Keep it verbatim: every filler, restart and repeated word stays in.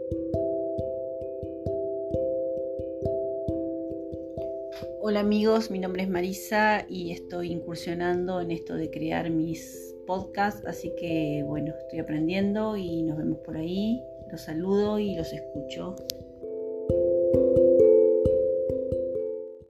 Hola amigos, mi nombre es Marisa y estoy incursionando en esto de crear mis podcasts, así que bueno, estoy aprendiendo y nos vemos por ahí. Los saludo y los escucho.